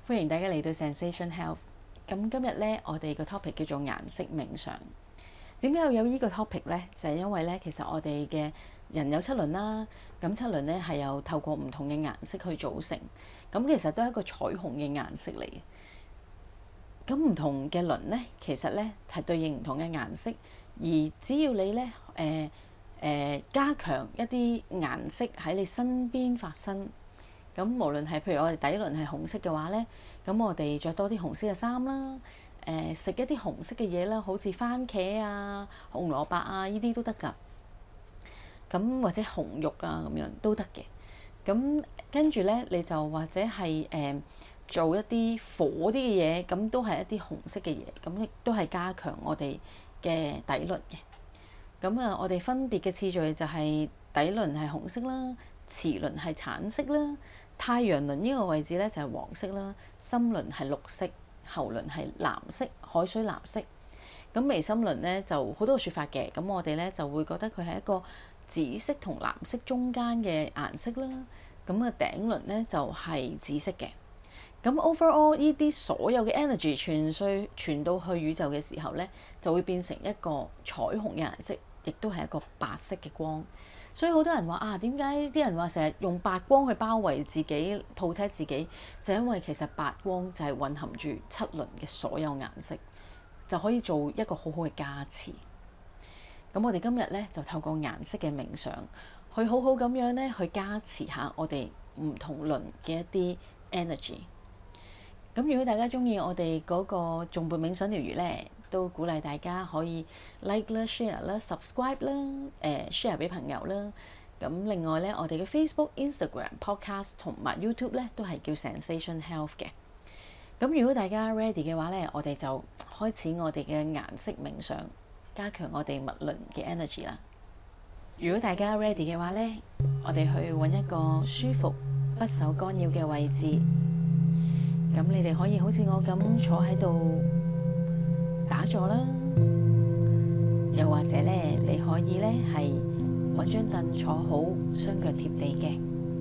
歡迎大家嚟到 Zensation Health。咁今日咧，我哋個 topic 叫做顏色冥想。點解要有呢個 topic呢？就係因為咧，其實我哋嘅人有七輪啦。咁七輪咧係有透過唔同嘅顏色去組成。咁其實都係一個彩虹嘅顏色嚟嘅。咁唔同嘅輪咧，其實咧係對應唔同嘅顏色。而只要你咧加強一啲顏色喺你身邊發生。咁無論係譬如我哋底輪係紅色嘅話咧，咁我哋着多啲紅色嘅衫啦，食一啲紅色嘅嘢啦，好似番茄啊、紅蘿蔔啊呢啲都得㗎。咁或者紅肉啊咁樣都得嘅。咁跟住咧，你就或者係做一啲火啲嘅嘢，咁都係一啲紅色嘅嘢，咁亦都係加強我哋嘅底輪嘅。咁啊，我哋分別嘅次序就係底輪係紅色啦，臍輪係橙色啦。太陽輪呢個位置咧就係黃色啦，心輪係綠色，喉輪係藍色，海水藍色。咁眉心輪咧就好多説法嘅，咁我哋咧就會覺得佢係一個紫色同藍色中間嘅顏色啦。咁啊頂輪咧就係紫色嘅。咁 overall 呢啲所有嘅 energy 傳到去宇宙嘅時候咧，就會變成一個彩虹嘅顏色，亦都係一個白色嘅光。所以好多人話啊，點解啲人話成日用白光去包圍自己、protect自己？就因為其實白光就係蘊含住七輪嘅所有顏色，就可以做一個好好嘅加持。咁我哋今日咧就透過顏色嘅冥想，去好好咁樣咧去加持下我哋唔同輪嘅一啲 energy。咁如果大家鍾意我哋嗰個頌缽冥想療癒咧，都鼓勵大家可以 like 啦、share 啦、subscribe 啦、share 俾朋友啦。咁另外咧，我哋嘅 Facebook、Instagram、Podcast 同埋 YouTube 咧都係叫 Zensation Health 嘅。咁如果大家 ready 嘅話咧，我哋就開始我哋嘅顏色冥想，加強我哋物輪嘅 energy 啦。如果大家 ready 嘅話咧，我哋去揾一個舒服、不受干擾嘅位置。咁你哋可以好似我咁坐喺度打坐啦，又或者咧，你可以咧係揾張凳坐好，雙腳貼地嘅，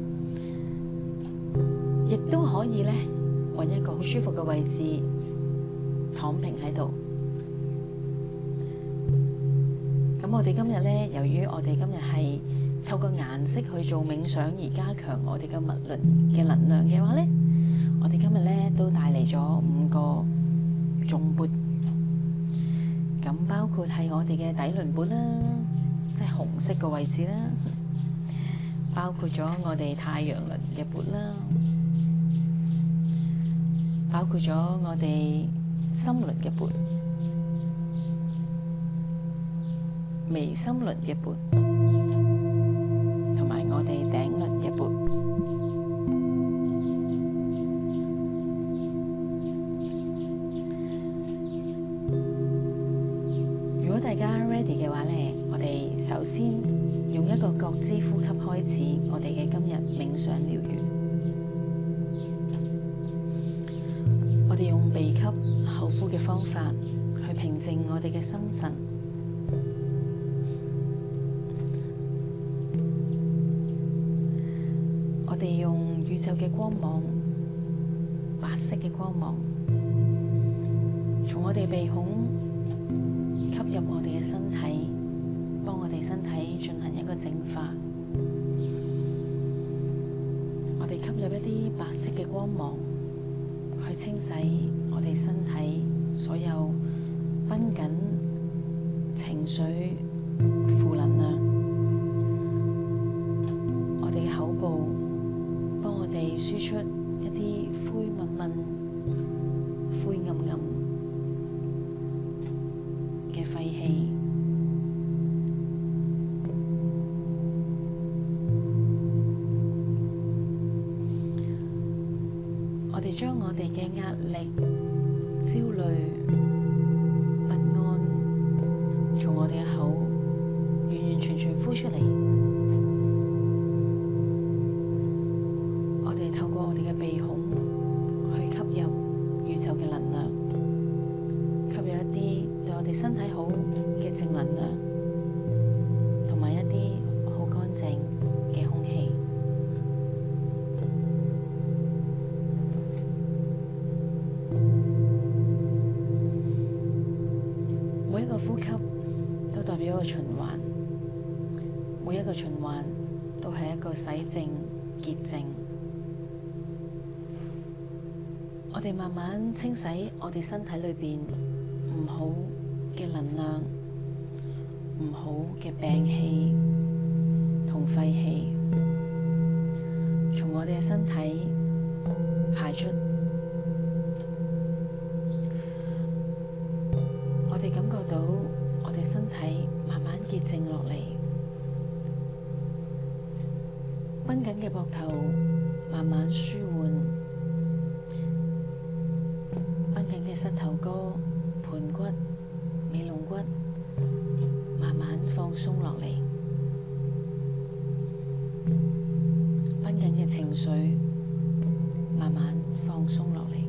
亦都可以咧揾一個好舒服嘅位置躺平喺度。咁我哋今日咧，由於我哋今日係透過顏色去做冥想而加強我哋嘅物輪嘅能量嘅話咧，我哋今日咧都帶嚟咗5個頌缽。咁包括係我哋嘅底輪缽啦，即係紅色嘅位置啦，包括咗我哋太陽輪嘅缽啦，包括咗我哋心輪嘅缽、眉心輪嘅缽，同埋我哋頂輪嘅缽。大家 ready 嘅話咧，我哋首先用一個覺知呼吸開始我哋嘅今日冥想療癒。我哋用鼻吸口呼嘅方法去平靜我哋嘅心神。我哋用宇宙嘅光芒，白色嘅光芒，從我哋鼻孔吸入我哋嘅身體，幫我哋身體進行一個淨化。我哋吸入一啲白色嘅光芒，去清洗我哋身體所有繃緊情緒、負能量。我哋嘅口部幫我哋輸出一啲灰濛濛、灰暗暗嘅廢氣。我哋將我哋嘅壓力、焦慮、不安，從我哋嘅口完完全全呼出嚟。我哋透過我哋嘅鼻孔去吸入宇宙嘅能量，吸入一啲對我哋身體好嘅正能量，同埋一啲好乾淨嘅空氣。 個循環，每一個循環都係一個洗淨、潔淨。我哋慢慢清洗我哋身體裏邊唔好嘅能量、唔好嘅病氣同廢氣，從我哋嘅身體排出。我哋感覺到我哋身體慢慢潔淨落嚟，繃緊嘅膊頭慢慢舒緩，繃緊嘅膝頭哥、盤骨、尾龍骨慢慢放鬆落嚟，繃緊嘅情緒慢慢放鬆落嚟。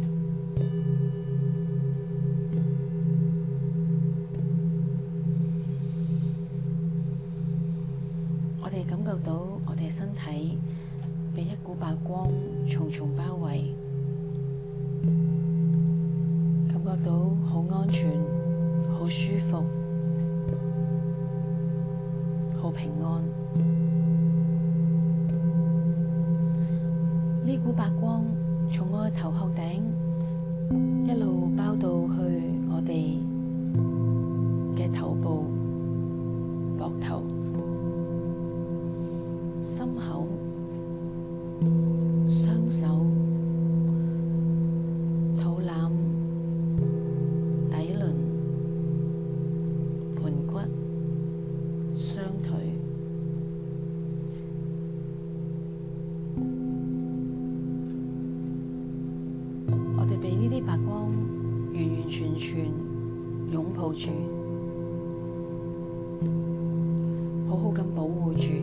我哋感覺到我哋身體被一股白光重重包圍，感覺到好安全、好舒服、好平安。呢股白光從我嘅頭殼頂一路包到去我哋嘅頭部、膊頭、心口、雙手、肚腩、底輪、盤骨、雙腿。我哋被呢啲白光完完全全擁抱住，好好咁保護住。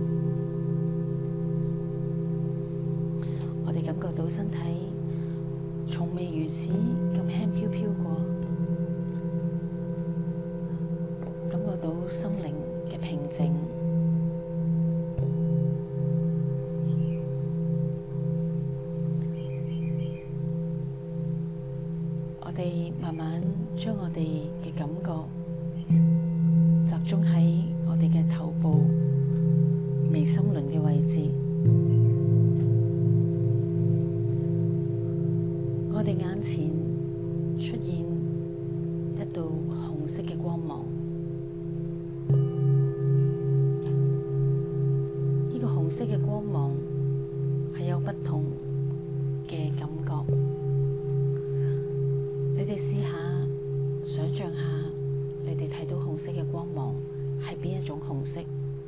我哋感覺到身體從未如此咁輕飄飄過，感覺到心靈嘅平靜。我哋慢慢將我哋嘅感覺集中喺我哋嘅頭部眉心輪嘅位置。我哋眼前出現一道紅色嘅光芒，呢個紅色嘅光芒係有不同嘅感覺。你哋試下想象下，你哋睇到紅色嘅光芒係邊一種紅色？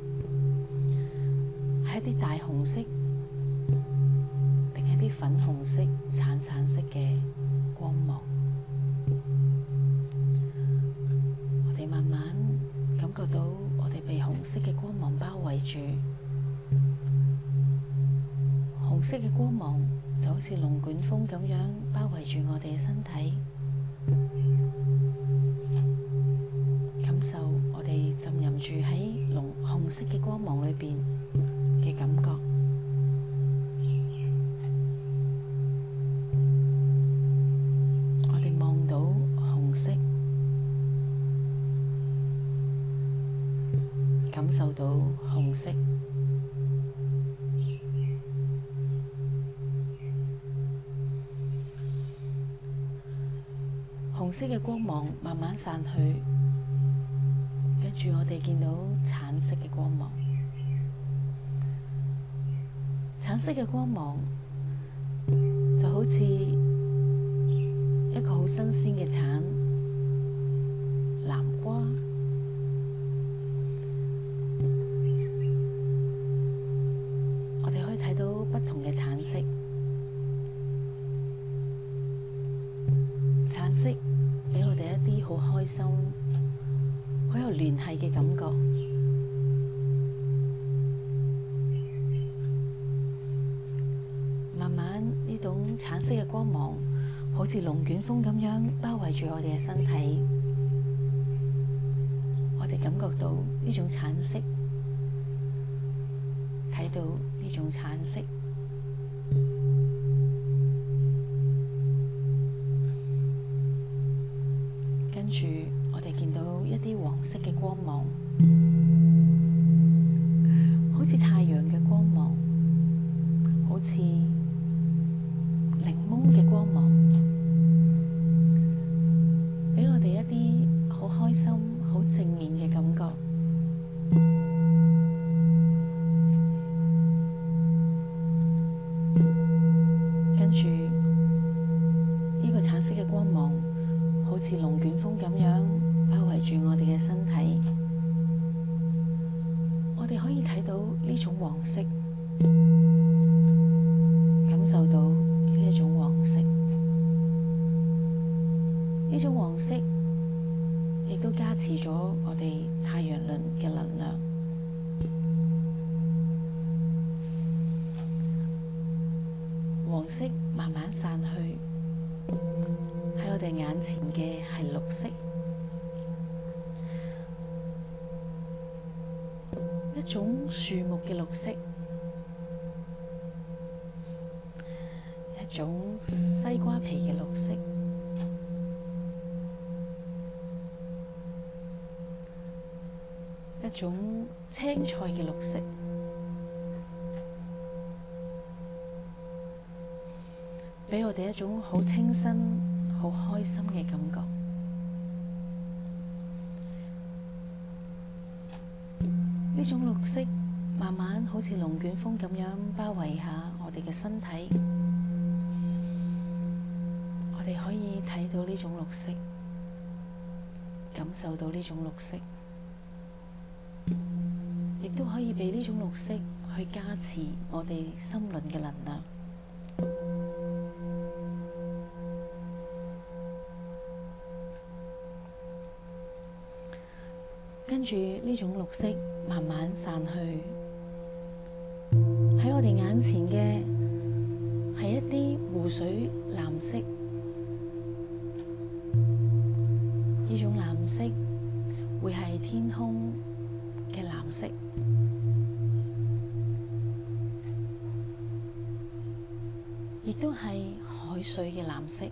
係一啲大紅色，定係啲粉紅色、橙色嘅光芒？我哋慢慢感覺到我哋被紅色嘅光芒包圍住，紅色嘅光芒就好似龍捲風咁樣包圍住我哋嘅身體。感受我哋浸淫住喺紅色嘅光芒裏邊嘅感覺。我哋望到紅色，感受到紅色。紅色嘅光芒慢慢散去，跟住我哋見到橙色嘅光芒。橙色嘅光芒就好似一個好新鮮嘅橙、南瓜。我哋可以睇到不同嘅橙色。橙色俾我哋一啲好開心、好有聯繫嘅感覺。慢慢呢種橙色嘅光芒，好似龍捲風咁樣包圍住我哋嘅身體。我哋感覺到呢種橙色，睇到呢種橙色。跟住，我哋見到一啲黃色嘅光芒， 好似太陽嘅光芒，好似檸檬嘅光芒，俾我哋一啲好開心、好正面嘅感覺。跟住呢個橙色嘅光芒，好似龍捲風咁樣包圍住我哋嘅身體。我哋可以睇到呢種黃色，感受到呢一種黃色。呢種黃色亦都加持咗我哋太陽輪嘅能量。黃色慢慢散去，喺我哋眼前嘅係綠色，一種樹木嘅綠色，一種西瓜皮嘅綠色，一種青菜嘅綠色，俾我哋一種好清新、好開心嘅感覺。呢種綠色慢慢好似龍捲風咁樣包圍下我哋嘅身體，我哋可以睇到呢種綠色，感受到呢種綠色，亦都可以俾呢種綠色去加持我哋心輪嘅能量。跟住呢種綠色慢慢散去，喺我哋眼前嘅係一啲湖水藍色，呢種藍色會係天空嘅藍色，亦都係海水嘅藍色。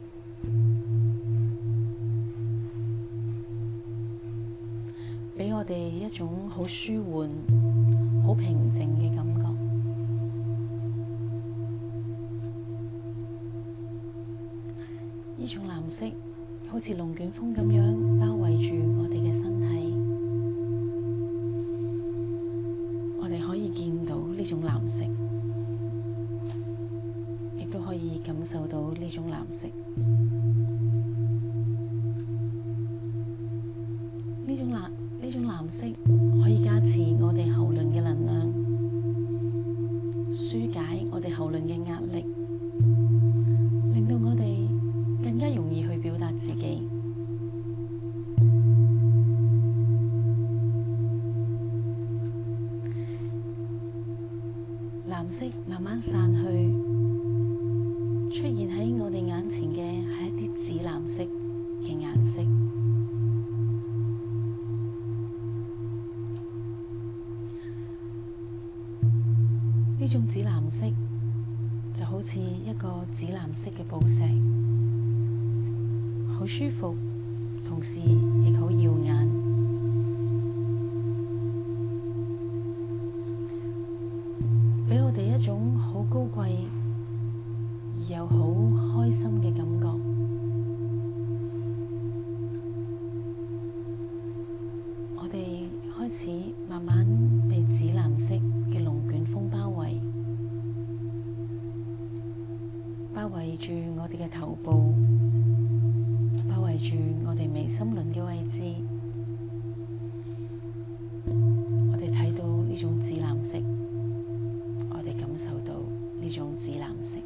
俾我哋一種好舒緩、好平靜嘅感覺。呢種藍色好似龍捲風咁樣包圍住我哋嘅身體，我哋可以見到呢種藍色，亦都可以感受到呢種藍色。呢種藍色可以加持我哋喉輪嘅能量，紓解我哋喉輪嘅壓力，令到我哋更加容易去表達自己。藍色慢慢散去，出現喺我哋眼前嘅係一啲紫藍色嘅顏色。呢種紫藍色就好似一個紫藍色嘅寶石，好舒服，同時亦好耀眼，俾我哋一種好高貴而又好開心嘅感覺。我哋開始慢慢被紫藍色嘅龍捲風包圍，包圍住我哋嘅頭部，包圍住我哋眉心輪嘅位置。我哋睇到呢種紫藍色，我哋感受到呢種紫藍色。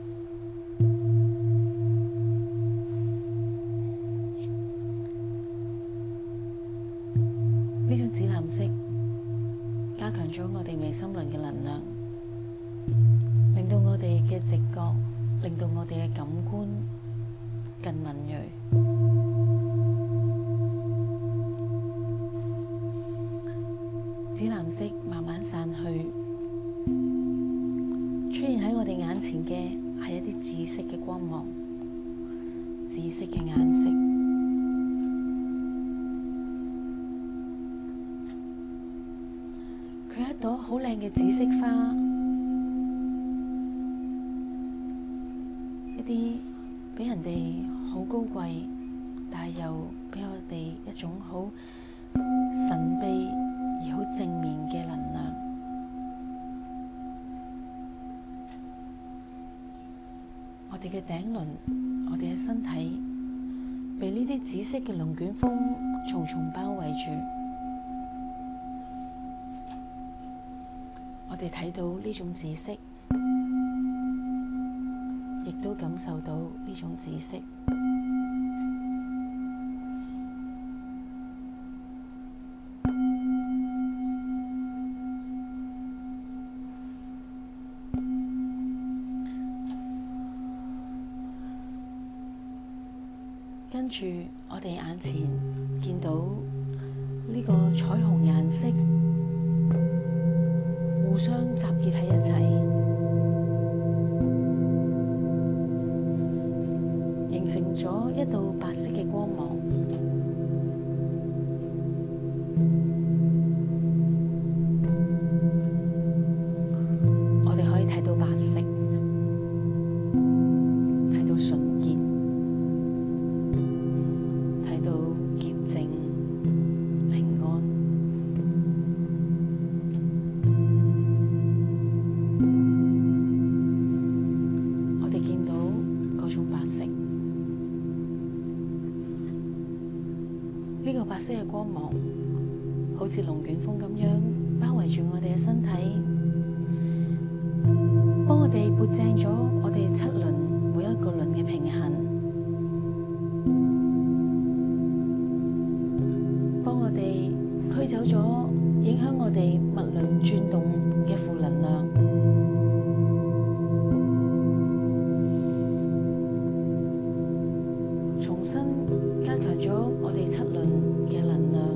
呢種紫藍色加強咗我哋眉心輪嘅能量，令到我哋嘅直覺，令到我哋嘅感官更敏銳。紫藍色慢慢散去，出現喺我哋眼前嘅係一啲紫色嘅光芒，紫色嘅顏色。 朵好靚嘅紫色花，一啲俾人哋好高貴，但係又俾我哋一種好神秘而好正面嘅能量。我哋嘅頂輪，我哋嘅身體被呢啲紫色嘅龍捲風重重包圍住。我哋睇到呢種紫色，亦都感受到呢種紫色。跟住，我哋眼前見到呢個彩虹顏色互相集結喺一齊，形成咗一道白色嘅光芒。我哋可以睇到白色，睇到純潔，睇到潔淨、平安。我哋見到嗰種白色，呢個白色嘅光芒好似龍捲風咁樣包圍住我哋嘅身體，幫我哋撥正咗我哋7輪每一個輪嘅平衡，幫我哋驅走咗影響我哋脈輪轉動嘅負能量，重新加強咗我哋7輪嘅能量。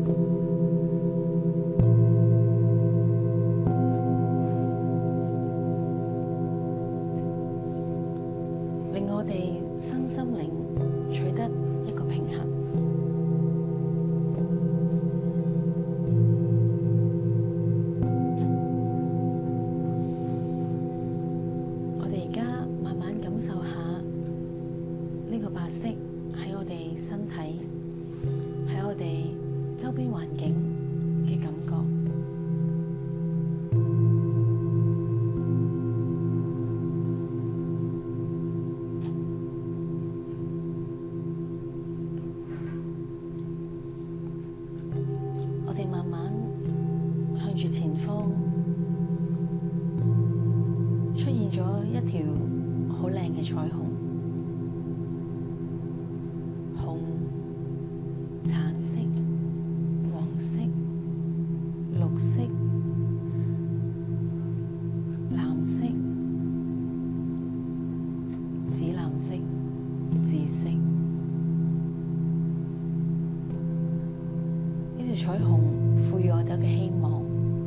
令我哋身心靈取得一個平衡。我哋而家慢慢感受下呢個白色喺我哋身體，喺我哋周邊環境嘅感覺。我哋慢慢向住前方，出現咗一條好靚嘅彩虹，紅、橙色、黃色、綠色、藍色、紫藍色、紫色。呢條彩虹賦予我哋嘅希望，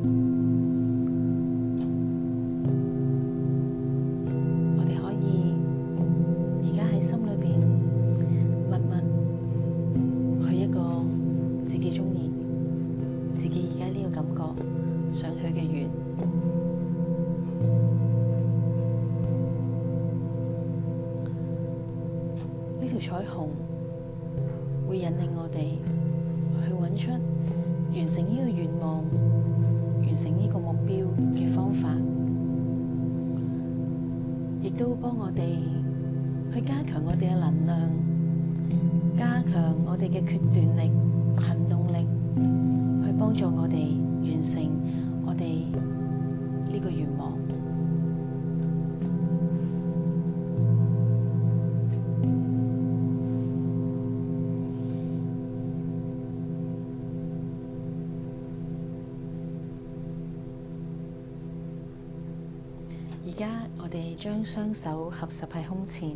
我哋可以而家喺心裏邊默默許一個自己鍾意、自己而家呢個感覺想許嘅願。呢條彩虹會引領我哋去揾出完成呢個願望、完成呢個目標嘅方法，亦都幫我哋去加強我哋嘅能量，加強我哋嘅決斷力、行動力，去幫助我哋完成我哋呢個願望。而家我哋將雙手合十喺胸前，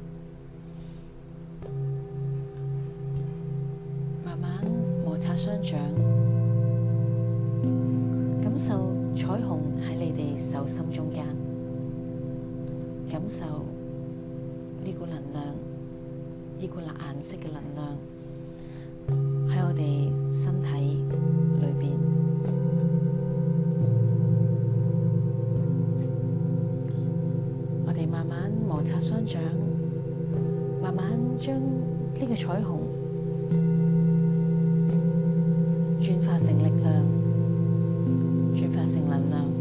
慢慢摩擦雙掌，感受彩虹喺你哋手心中間，感受呢股能量，呢股顏色嘅能量喺我哋身體裏邊。 雙掌，慢慢將呢個彩虹轉化成力量，轉化成能量。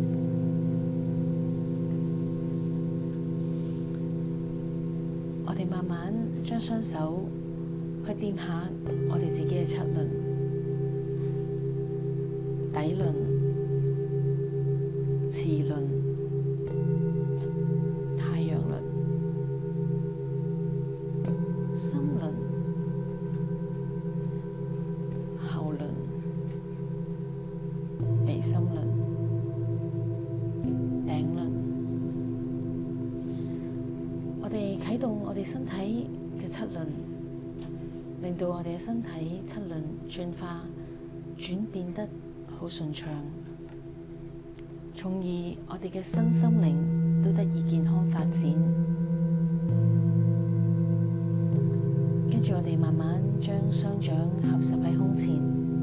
我哋慢慢將雙手去掂下我哋自己嘅七輪、底輪、臍輪、太陽輪、心輪、後輪、眉心輪、頂輪。我哋啟動我哋身體嘅七輪，令到我哋嘅身體七輪轉化、轉變得好順暢，從而我哋嘅身心靈都得以健康發展。跟住我哋慢慢將雙掌合十喺胸前，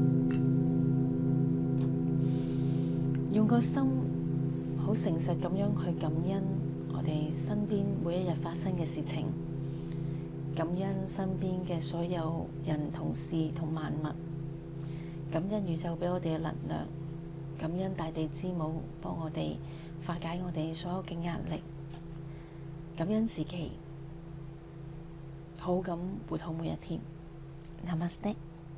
用個心好誠實咁樣去感恩我哋身邊每一日發生嘅事情，感恩身邊嘅所有人、同事同萬物，感恩宇宙俾我哋嘅能量，感恩大地之母幫我哋化解我哋所有嘅壓力，感恩自己，好咁活好每一天。Namaste。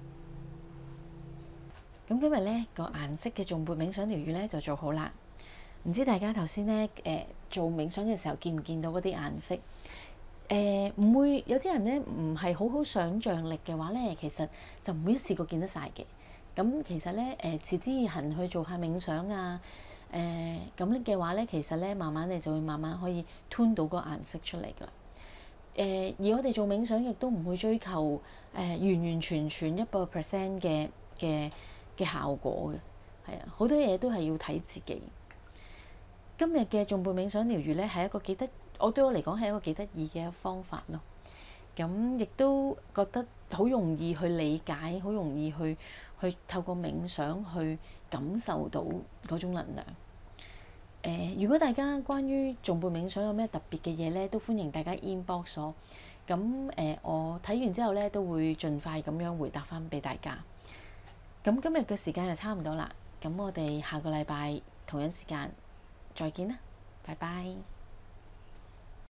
咁今日呢個顏色嘅頌缽冥想療癒呢就做好啦。唔知大家頭先呢做冥想嘅時候見唔見到嗰啲顏色？唔會有啲人呢唔係好好想像力嘅話呢，其實就唔會一次過見得晒嘅。咁其實呢持之以恆去做下冥想啊，咁嘅話呢，其實呢慢慢你就會慢慢可以 tune 到個顏色出嚟㗎啦。而我哋做冥想亦都唔會追求完完全全100% 嘅效果嘅，係啊，好多嘢都係要睇自己。今日嘅頌缽冥想療癒咧，係一個對我嚟講係一個幾得意嘅方法咯。咁亦都覺得好容易去理解，好容易去透過冥想去感受到嗰種能量。如果大家關於頌缽冥想有咩特別嘅嘢咧，都歡迎大家 inbox 我。咁我睇完之後咧，都會盡快咁樣回答翻俾大家。咁今日嘅時間就差唔多啦。咁我哋下個禮拜同樣時間再見啦，拜拜。